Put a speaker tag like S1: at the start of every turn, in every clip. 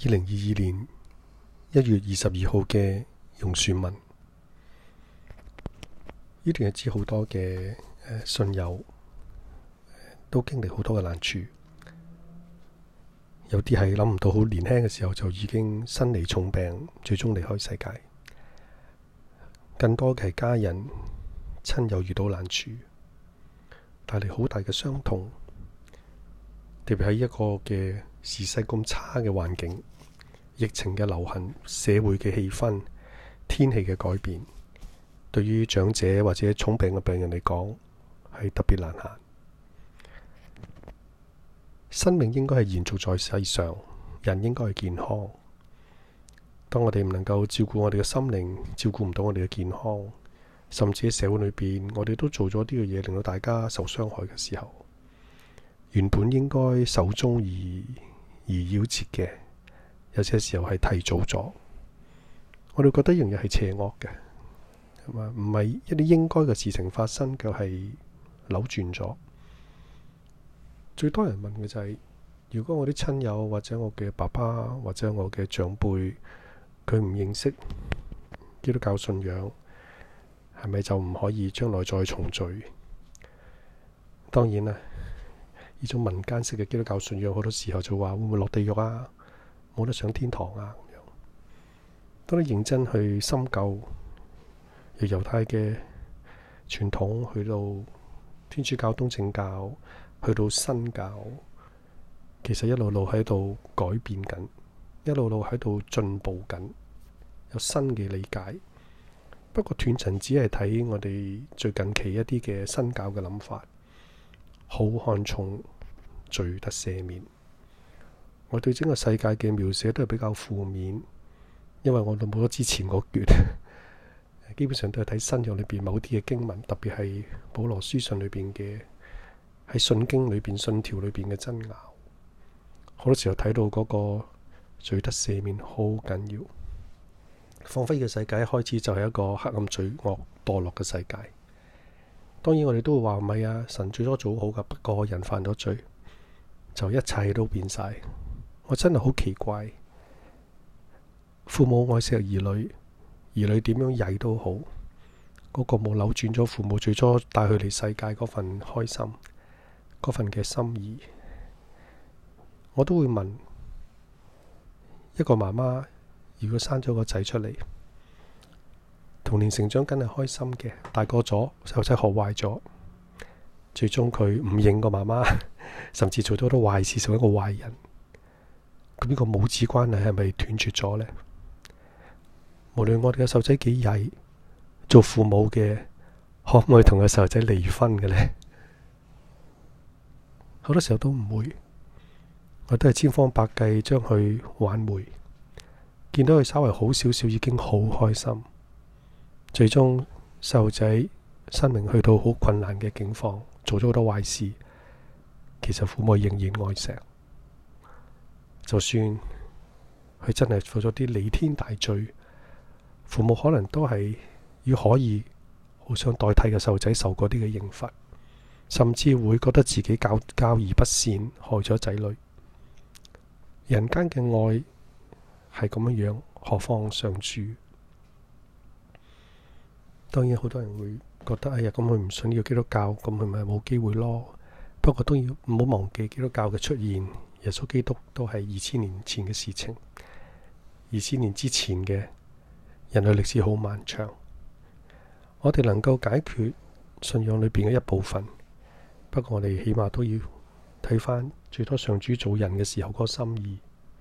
S1: 2022年1月22號嘅榕樹文，呢段日子好多嘅信友都經歷好多嘅難處，有啲係諗唔到好年輕嘅時候就已經身離重病，最終離開世界。更多嘅係家人親友遇到難處，帶嚟好大嘅傷痛，特別喺一個嘅時勢咁差嘅環境，疫情嘅流行，社會嘅氣氛，天氣嘅改變，對於長者或者重病嘅病人嚟講係特別難行。生命應該係延續在世上，人應該係健康。當我哋唔能夠照顧我哋嘅心靈，照顧唔到我哋嘅健康，甚至喺社會裏邊，我哋都做咗啲嘅嘢，令到大家受傷害嘅時候，原本應該壽終而夭折嘅，有些時候係提早咗。我哋覺得呢樣嘢係邪惡嘅，係嘛？唔係一啲應該嘅事情發生，卻係扭轉咗。最多人問嘅就係，如果我啲親友或者我嘅爸爸或者我嘅長輩，佢唔認識基督教信仰，係咪就唔可以將來再重聚？當然啦，呢種民間式嘅基督教信仰，好多時候就話會唔會落地獄啊？冇得上天堂啊？咁樣，當你認真去深究，由猶太嘅傳統去到天主教、東正教，去到新教，其實一路路喺度改變緊，一路路喺度進步緊，有新嘅理解。不過斷層只係睇我哋最近期一啲嘅新教嘅諗法，好看重罪得赦免。我對整個世界嘅描寫都係比較負面，因為我哋冇咗之前嗰橛，基本上都係睇新約裏邊某啲嘅經文，特別係保羅書信裏邊嘅，喺信經裏邊、信條裏邊嘅爭拗。好多時候睇到嗰個罪得赦免好緊要，仿佛嘅世界一開始就係一個黑暗、罪惡、墮落嘅世界。當然我哋都會話唔係啊，神最初做好噶，不過人犯咗罪，就一切都變晒。我真係好奇怪，父母愛錫兒女，兒女點樣曳都好，嗰個冇扭轉咗父母最初帶佢嚟世界嗰份開心，嗰份嘅心意。我都會問，一個媽媽如果生咗個仔出嚟，童年成長梗係開心嘅，大個咗細路仔學壞咗，最終佢唔認個媽媽，甚至做咗好多壞事，成為一個壞人。咁呢個母子關係係咪斷絕咗呢？無論我哋嘅細路仔幾曳，做父母嘅可唔可以同個細路仔離婚嘅呢？好多時候都唔會，我都係千方百計將佢挽回。見到佢稍微好少少，已經好開心。最終細路仔生命去到好困難嘅境況，做咗好多壞事，其實父母仍然愛錫。就算佢真係做咗啲彌天大罪，父母可能都係可以好想代替嘅細路仔受嗰啲嘅刑罰，甚至會覺得自己教而不善，害咗仔女。人間嘅愛係咁樣樣，何況上主？當然好多人會覺得，哎呀，咁佢唔信呢個基督教，咁佢咪冇機會咯。不過都要唔好忘記基督教嘅出現，耶穌基督都係2000年前嘅事情。2000年之前嘅人類歷史好漫長，我哋能夠解決信仰裏邊嘅一部分，不過我哋起碼都要睇翻最多上主做人嘅時候嗰個心意。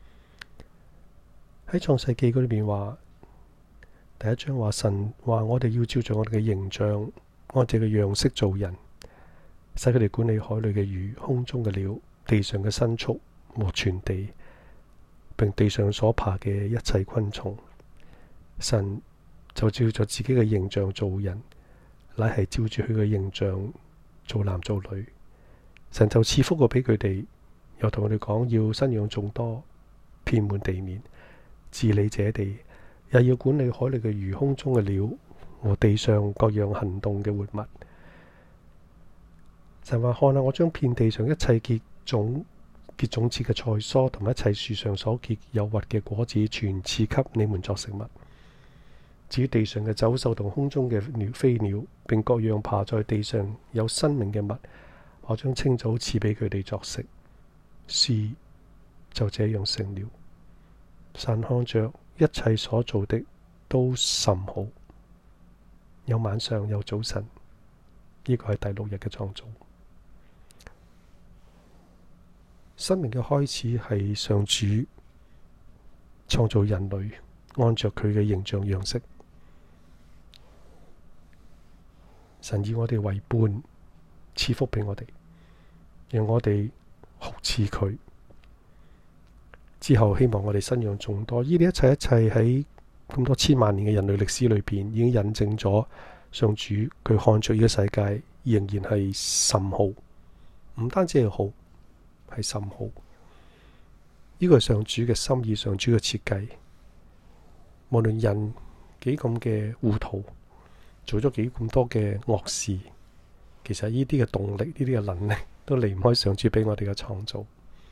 S1: 喺創世記嗰裏邊話，第一章話神話我哋要照着我哋嘅形象，按照嘅樣式做人，使佢哋管理海裏嘅魚、空中嘅鳥、地上嘅牲畜和全地，並地上所爬嘅一切昆蟲。神就照着自己嘅形象做人，乃係照住佢嘅形象做男做女。神就賜福過俾佢哋，又同我哋講要生養眾多，遍滿地面，治理這地，又要管理海裏嘅魚、空中嘅鳥和地上各樣行動嘅活物。神話看下，我將遍地上一切結種結種子嘅菜蔬同埋一切樹上所結有核嘅果子，全賜給你們作食物。至於地上嘅走獸同空中嘅飛鳥，並各樣爬在地上有生命嘅物，我將清早賜俾佢哋作食。事就這樣成了。神看着一切所做的都甚好。有晚上，有早晨，呢個係第6日嘅創造。生命嘅開始係上主創造人類，按着佢嘅形象樣式。神以我哋為伴，賜福俾我哋，讓我哋好似佢。之後希望我哋生養眾多。呢啲一切喺咁多千萬年嘅人類歷史裏邊，已經印證咗上主佢看着呢個世界仍然係甚好，唔單止係好，係甚好。呢個係上主嘅心意，上主嘅設計。無論人幾咁嘅糊塗，做咗幾咁多嘅惡事，其實呢啲嘅動力，呢啲嘅能力，都離唔開上主俾我哋嘅創造。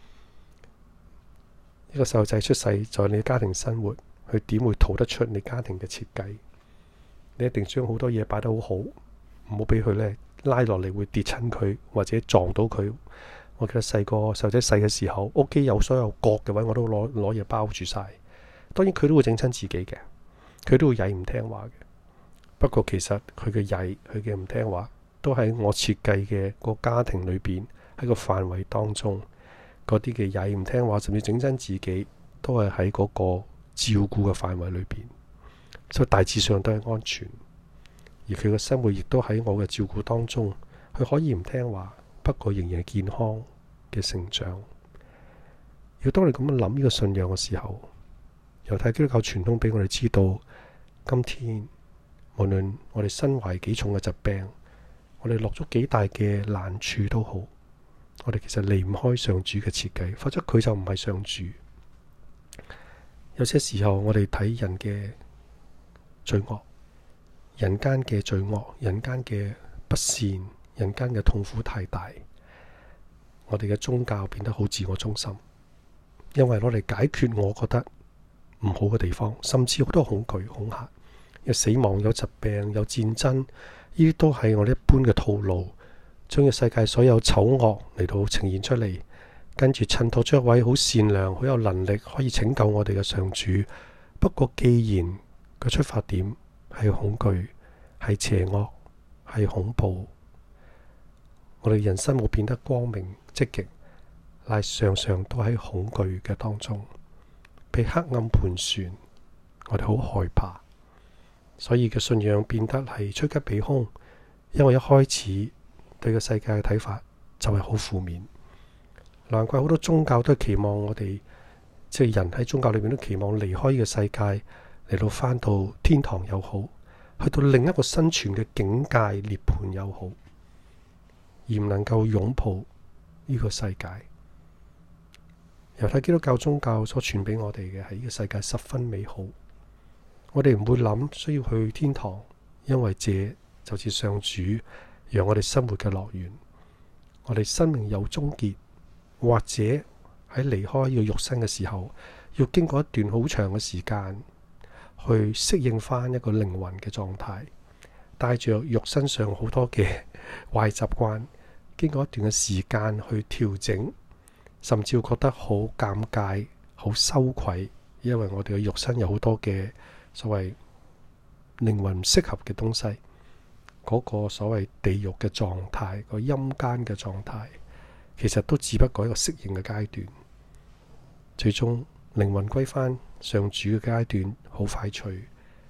S1: 一個細路仔出世，在你家庭生活，佢點會逃得出你家庭嘅設計？你一定將好多嘢擺得好好，唔好俾佢呢拉落嚟會跌親佢，或者撞到佢。我記得細個細路仔細嘅時候，屋企有所有角嘅位，我都攞嘢包住晒。當然佢都會整親自己嘅，佢都會曳唔聽話嘅。不過其實佢嘅曳，佢嘅唔聽話，都喺我設計嘅個家庭裏邊，喺個範圍當中，嗰啲嘅曳唔聽話，甚至整親自己，都係喺嗰個照顧嘅範圍裏邊，所以大致上都係安全。而佢嘅生活亦都喺我嘅照顧當中，佢可以唔聽話，不過仍然係健康嘅成長。要當你咁樣諗呢個信仰嘅時候，猶太基督教傳統俾我哋知道，今天無論我哋身懷幾重嘅疾病，我哋落咗幾大嘅難處都好，我哋其實離唔開上主嘅設計，否則佢就唔係上主。有些時候我哋睇人嘅罪惡，人間嘅罪惡，人間嘅不善，人間嘅痛苦太大，我哋嘅宗教變得好自我中心，因為攞嚟解決我覺得唔好嘅地方，甚至好多恐懼、恐嚇，有死亡、有疾病、有戰爭，呢啲都係我哋一般嘅套路，將個世界所有醜惡嚟到呈現出嚟，跟住襯托出一位好善良、好有能力可以拯救我哋嘅上主。不過既然個出發點係恐懼、係邪惡、係恐怖，我哋人生冇變得光明積極，乃常常都喺恐懼嘅當中，被黑暗盤旋，我哋好害怕，所以嘅信仰變得係趨吉避凶，因為一開始對個世界嘅睇法就係好負面。難怪好多宗教都係期望我哋，即係人喺宗教裏面都期望離開呢個世界，嚟到返到天堂又好，去到另一個生存嘅境界涅槃又好，而唔能夠擁抱呢個世界。猶太基督教宗教所傳俾我哋嘅係呢個世界十分美好，我哋唔會諗需要去天堂，因為這就似上主讓我哋生活嘅樂園。我哋生命有終結，或者喺離開呢個肉身嘅時候，要經過一段好長嘅時間去適應翻一個靈魂嘅狀態，帶着肉身上好多嘅壞習慣，經過一段嘅時間去調整，甚至會覺得好尷尬、好羞愧，因為我哋嘅肉身有好多嘅所謂靈魂唔適合嘅東西，嗰個所謂地獄嘅狀態、個陰間嘅狀態，其實都只不過一個適應嘅階段，最終靈魂歸翻上主嘅階段好快脆，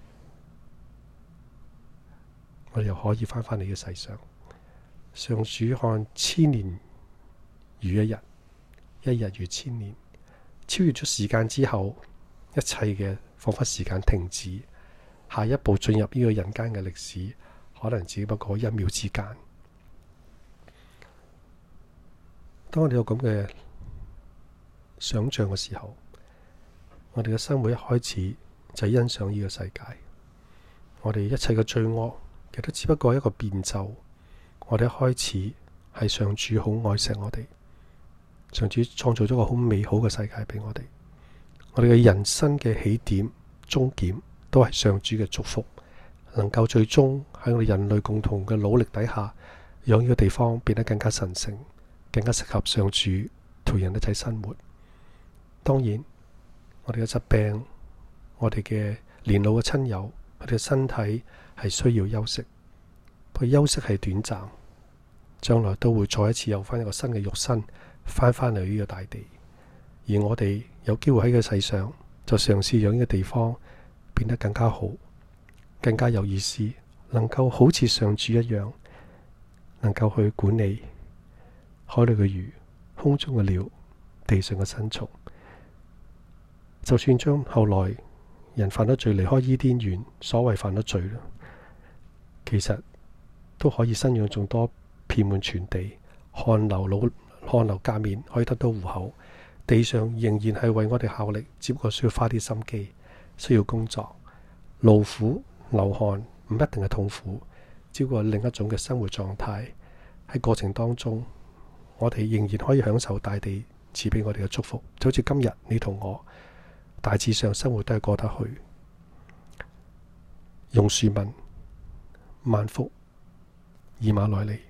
S1: 我哋又可以翻返嚟嘅世上。上主看千年如一日，一日如千年，超越咗時間之後，一切嘅仿佛時間停止，下一步進入呢個人間嘅歷史，可能只不過一秒之間。當我哋有咁嘅想象嘅時候，我哋嘅生活一開始就係欣賞呢個世界。我哋一切嘅罪惡，其實都只不過係一個變奏。我哋一開始係上主好愛錫我哋， 上主創造咗個好美好嘅世界俾我哋。我哋嘅人生嘅起點、終點都係上主嘅祝福，能夠最終喺我哋人類共同嘅努力底下，讓呢個地方變得更加神聖，更加適合上主同人一齊生活。當然，我哋嘅疾病，我哋嘅年老嘅親友，我哋嘅身體係需要休息，不過休息係短暫，將來都會再一次有翻一個新嘅肉身翻返嚟呢個大地。而我哋有機會喺個世上，就嘗試讓呢個地方變得更加好，更加有意思，能夠好似上主一樣，能夠去管理海裏嘅魚、空中嘅鳥、地上嘅牲蟲。就算將後來人犯咗罪離開伊甸園，所謂犯咗罪啦，其實都可以生養眾多，遍滿全地，汗流頰面可以得到糊口。地上仍然係為我哋效力，只不過需要花啲心機，需要工作，勞苦流汗唔一定係痛苦，只不過另一種嘅生活狀態。喺過程當中，我哋仍然可以享受大地賜俾我哋嘅祝福，就好似今日你同我大致上生活都係過得去。榕樹問：萬福以馬內利。